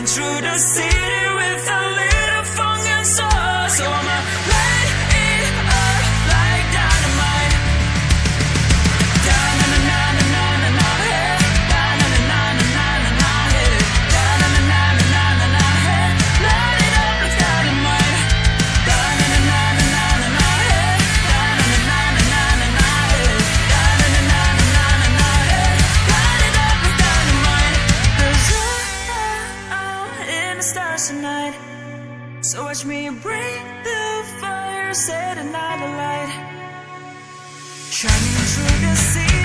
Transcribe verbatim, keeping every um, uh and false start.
through the city with a little funk and soul. So I'ma light it up like dynamite. Da na na na na na na na, hey. Da na na na na na na na, hey. Da na na na na na na na, hey. Light it up like dynamite. Da na na na na na na na, hey. Da na na na na na na na, hey. Da na na na na na na na, hey. Light it up like dynamite. 'Cause I'm in the stars tonight. So watch me bring the fire, set another light, shining through the sea.